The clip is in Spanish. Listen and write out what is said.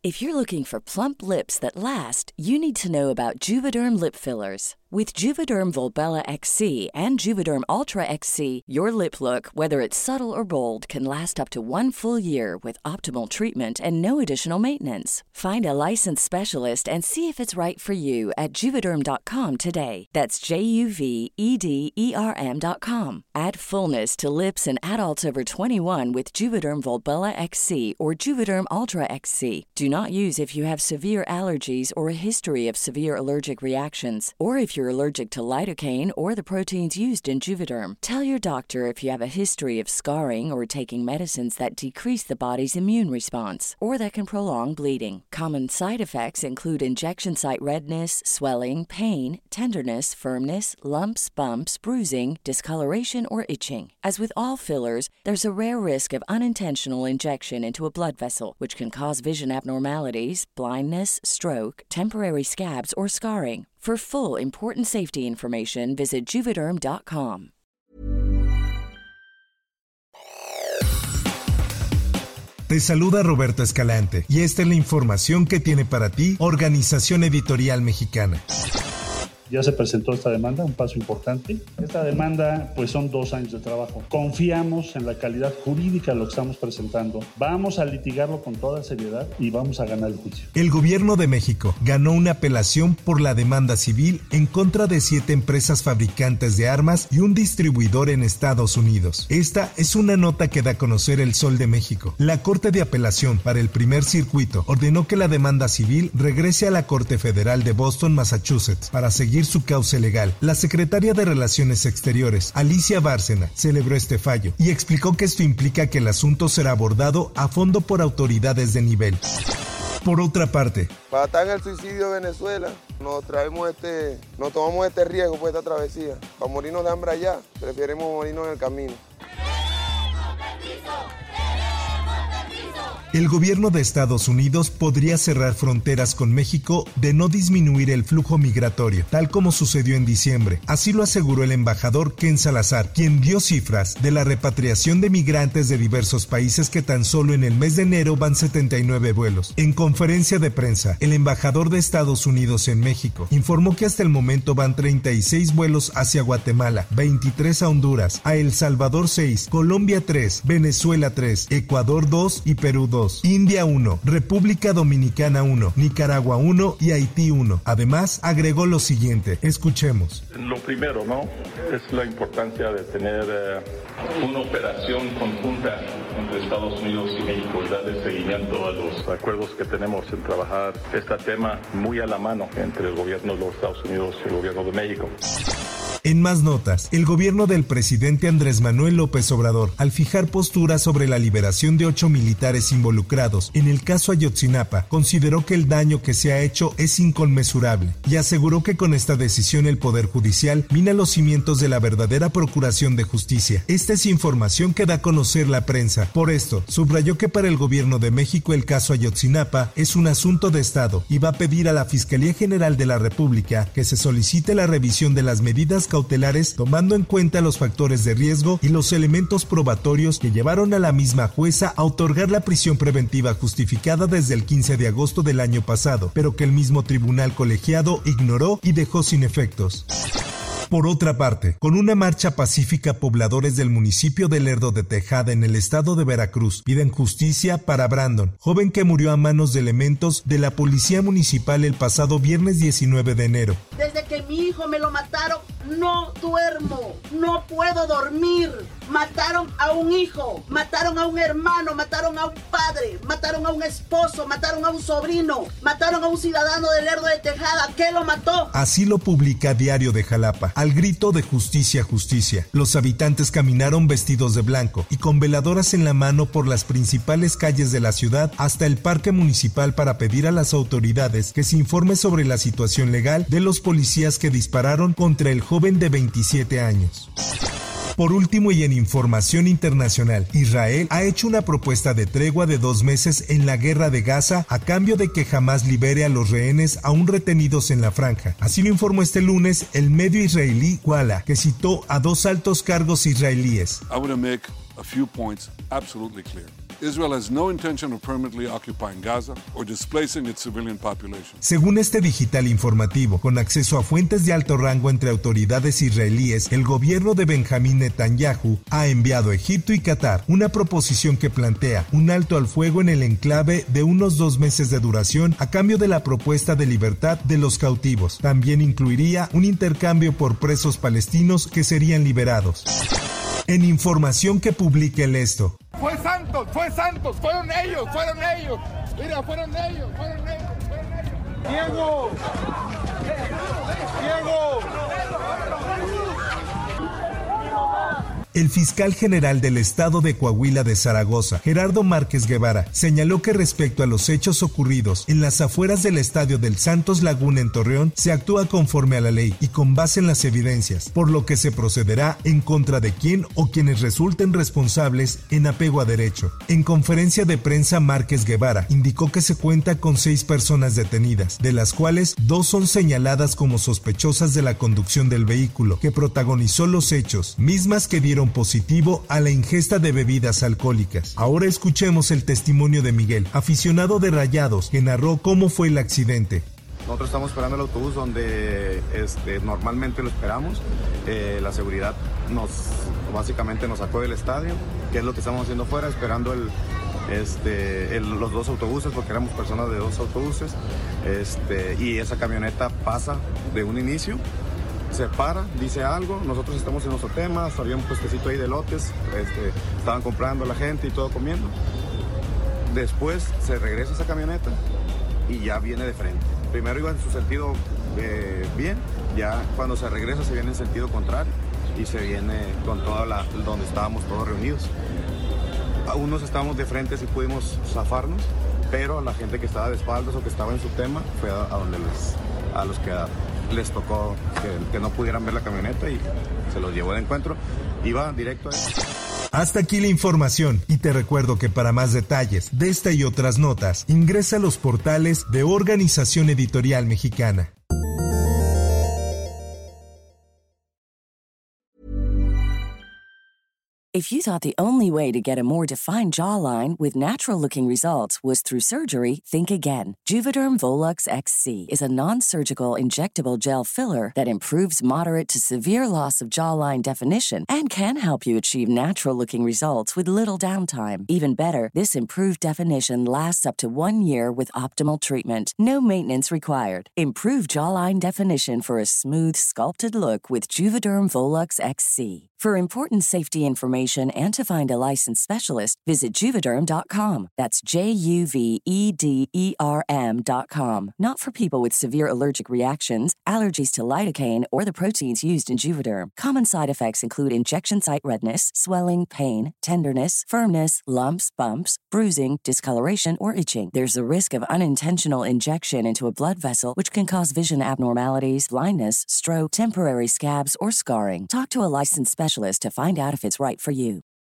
If you're looking for plump lips that last, you need to know about Juvederm lip fillers. With Juvederm Volbella XC and Juvederm Ultra XC, your lip look, whether it's subtle or bold, can last up to 1 full year with optimal treatment and no additional maintenance. Find a licensed specialist and see if it's right for you at Juvederm.com today. That's JUVEDERM.com. Add fullness to lips in adults over 21 with Juvederm Volbella XC or Juvederm Ultra XC. Do not use if you have severe allergies or a history of severe allergic reactions, or if you're allergic to lidocaine or the proteins used in Juvederm. Tell your doctor if you have a history of scarring or taking medicines that decrease the body's immune response or that can prolong bleeding. Common side effects include injection site redness, swelling, pain, tenderness, firmness, lumps, bumps, bruising, discoloration, or itching. As with all fillers, there's a rare risk of unintentional injection into a blood vessel, which can cause vision abnormalities, blindness, stroke, temporary scabs, or scarring. For full, important safety information, visit Juvederm.com. Te saluda Roberto Escalante y esta es la información que tiene para ti Organización Editorial Mexicana. Ya se presentó esta demanda, un paso importante. Esta demanda, pues son 2 años de trabajo. Confiamos en la calidad jurídica de lo que estamos presentando. Vamos a litigarlo con toda seriedad y vamos a ganar el juicio. El gobierno de México ganó una apelación por la demanda civil en contra de 7 empresas fabricantes de armas y un distribuidor en Estados Unidos. Esta es una nota que da a conocer El Sol de México. La Corte de Apelación para el Primer Circuito ordenó que la demanda civil regrese a la Corte Federal de Boston, Massachusetts, para seguir su cauce legal. La secretaria de Relaciones Exteriores, Alicia Bárcena, celebró este fallo y explicó que esto implica que el asunto será abordado a fondo por autoridades de nivel. Por otra parte, para estar en el suicidio de Venezuela, nos tomamos este riesgo por esta travesía. Para morirnos de hambre allá, preferimos morirnos en el camino. El gobierno de Estados Unidos podría cerrar fronteras con México de no disminuir el flujo migratorio, tal como sucedió en diciembre. Así lo aseguró el embajador Ken Salazar, quien dio cifras de la repatriación de migrantes de diversos países que tan solo en el mes de enero van 79 vuelos. En conferencia de prensa, el embajador de Estados Unidos en México informó que hasta el momento van 36 vuelos hacia Guatemala, 23 a Honduras, a El Salvador 6, Colombia 3, Venezuela 3, Ecuador 2 y Perú 2. India 1, República Dominicana 1, Nicaragua 1 y Haití 1. Además, agregó lo siguiente. Escuchemos. Lo primero, ¿no? Es la importancia de tener una operación conjunta entre Estados Unidos y México y darle seguimiento a los acuerdos que tenemos en trabajar este tema muy a la mano entre el gobierno de los Estados Unidos y el gobierno de México. En más notas, el gobierno del presidente Andrés Manuel López Obrador, al fijar postura sobre la liberación de 8 militares involucrados en el caso Ayotzinapa, consideró que el daño que se ha hecho es inconmensurable y aseguró que con esta decisión el Poder Judicial mina los cimientos de la verdadera procuración de justicia. Esta es información que da a conocer la prensa. Por esto, subrayó que para el gobierno de México el caso Ayotzinapa es un asunto de Estado y va a pedir a la Fiscalía General de la República que se solicite la revisión de las medidas cautelares tomando en cuenta los factores de riesgo y los elementos probatorios que llevaron a la misma jueza a otorgar la prisión preventiva justificada desde el 15 de agosto del año pasado, pero que el mismo tribunal colegiado ignoró y dejó sin efectos. Por otra parte, con una marcha pacífica, pobladores del municipio de Lerdo de Tejada en el estado de Veracruz piden justicia para Brandon, joven que murió a manos de elementos de la policía municipal el pasado viernes 19 de enero. Desde que mi hijo me lo mataron, no duermo, no puedo dormir. Mataron a un hijo, mataron a un hermano, mataron a un padre, mataron a un esposo, mataron a un sobrino, mataron a un ciudadano de Lerdo de Tejada. ¿Qué lo mató? Así lo publica Diario de Jalapa. Al grito de justicia, justicia, los habitantes caminaron vestidos de blanco y con veladoras en la mano por las principales calles de la ciudad hasta el parque municipal para pedir a las autoridades que se informe sobre la situación legal de los policías que dispararon contra el joven de 27 años. Por último y en información internacional, Israel ha hecho una propuesta de tregua de 2 meses en la guerra de Gaza a cambio de que Hamás libere a los rehenes aún retenidos en la franja. Así lo informó este lunes el medio israelí Walla, que citó a 2 altos cargos israelíes. I want to make a few points absolutely clear. Israel has no intention of permanently occupying Gaza or displacing its civilian population. Según este digital informativo, con acceso a fuentes de alto rango entre autoridades israelíes, el gobierno de Benjamín Netanyahu ha enviado a Egipto y Qatar una proposición que plantea un alto al fuego en el enclave de unos 2 meses de duración a cambio de la propuesta de libertad de los cautivos. También incluiría un intercambio por presos palestinos que serían liberados. En información que publica el Esto. Fue Santos, fueron ellos. Mira, fueron ellos. Diego. El fiscal general del estado de Coahuila de Zaragoza, Gerardo Márquez Guevara, señaló que respecto a los hechos ocurridos en las afueras del estadio del Santos Laguna en Torreón, se actúa conforme a la ley y con base en las evidencias, por lo que se procederá en contra de quien o quienes resulten responsables en apego a derecho. En conferencia de prensa, Márquez Guevara indicó que se cuenta con 6 personas detenidas, de las cuales 2 son señaladas como sospechosas de la conducción del vehículo que protagonizó los hechos, mismas que dieron positivo a la ingesta de bebidas alcohólicas. Ahora escuchemos el testimonio de Miguel, aficionado de Rayados, que narró cómo fue el accidente. Nosotros estamos esperando el autobús donde normalmente lo esperamos. La seguridad básicamente nos sacó del estadio, que es lo que estamos haciendo fuera, esperando los 2 autobuses, porque éramos personas de 2 autobuses, y esa camioneta pasa de un inicio, se para, dice algo, nosotros estamos en nuestro tema, había un puestecito ahí de lotes, estaban comprando la gente y todo comiendo. Después se regresa esa camioneta y ya viene de frente. Primero iba en su sentido bien, ya cuando se regresa se viene en sentido contrario y se viene con toda donde estábamos todos reunidos. A unos estábamos de frente si pudimos zafarnos, pero a la gente que estaba de espaldas o que estaba en su tema fue a los que les tocó que no pudieran ver la camioneta y se los llevó de encuentro. Iba directo a él. Hasta aquí la información y te recuerdo que para más detalles de esta y otras notas, ingresa a los portales de Organización Editorial Mexicana. If you thought the only way to get a more defined jawline with natural-looking results was through surgery, think again. Juvederm Volux XC is a non-surgical injectable gel filler that improves moderate to severe loss of jawline definition and can help you achieve natural-looking results with little downtime. Even better, this improved definition lasts up to 1 year with optimal treatment. No maintenance required. Improve jawline definition for a smooth, sculpted look with Juvederm Volux XC. For important safety information and to find a licensed specialist, visit Juvederm.com. That's JUVEDERM.com. Not for people with severe allergic reactions, allergies to lidocaine, or the proteins used in Juvederm. Common side effects include injection site redness, swelling, pain, tenderness, firmness, lumps, bumps, bruising, discoloration, or itching. There's a risk of unintentional injection into a blood vessel, which can cause vision abnormalities, blindness, stroke, temporary scabs, or scarring. Talk to a licensed specialist to find out if it's right for you.